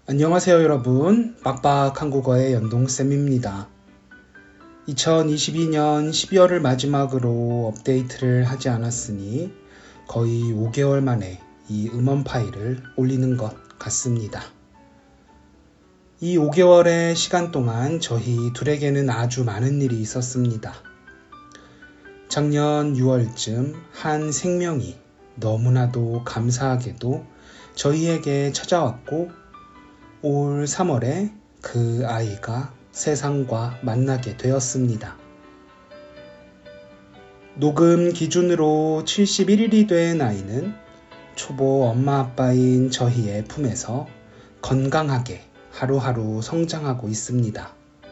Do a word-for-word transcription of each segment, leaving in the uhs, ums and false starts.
안녕하세요 여러분, 빡빡 한국어의 연동쌤입니다. 이천이십이 년 십이월을 마지막으로 업데이트를 하지 않았으니 거의 오 개월 만에 이 음원 파일을 올리는 것 같습니다. 이 오 개월의 시간 동안 저희 둘에게는 아주 많은 일이 있었습니다. 작년 유월쯤 한 생명이 너무나도 감사하게도 저희에게 찾아왔고 올 삼월에 그 아이가 세상과 만나게 되었습니다. 녹음 기준으로 칠십일 일이 된 아이는 초보 엄마 아빠인 저희의 품에서 건강하게 하루하루 성장하고 있습니다.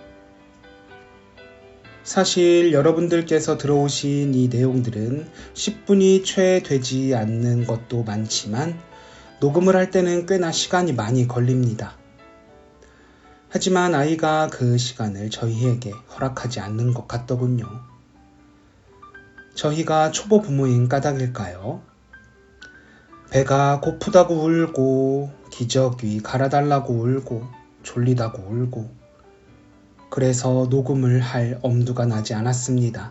사실 여러분들께서 들어오신 이 내용들은 십 분이 채 되지 않는 것도 많지만 녹음을 할 때는 꽤나 시간이 많이 걸립니다. 하지만 아이가 그 시간을 저희에게 허락하지 않는 것 같더군요. 저희가 초보 부모인 까닭일까요? 배가 고프다고 울고, 기저귀 갈아달라고 울고, 졸리다고 울고, 그래서 녹음을 할 엄두가 나지 않았습니다.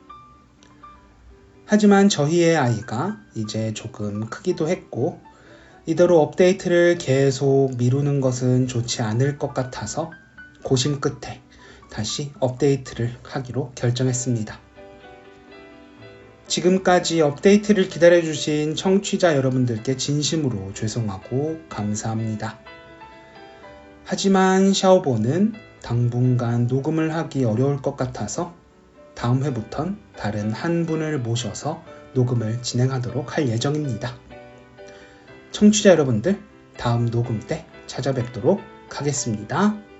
하지만 저희의 아이가 이제 조금 크기도 했고, 이대로 업데이트를 계속 미루는 것은 좋지 않을 것 같아서 고심 끝에 다시 업데이트를 하기로 결정했습니다. 지금까지 업데이트를 기다려주신 청취자 여러분들께 진심으로 죄송하고 감사합니다. 하지만 샤오보는 당분간 녹음을 하기 어려울 것 같아서 다음 회부턴 다른 한 분을 모셔서 녹음을 진행하도록 할 예정입니다. 청취자 여러분들, 다음 녹음 때 찾아뵙도록 하겠습니다.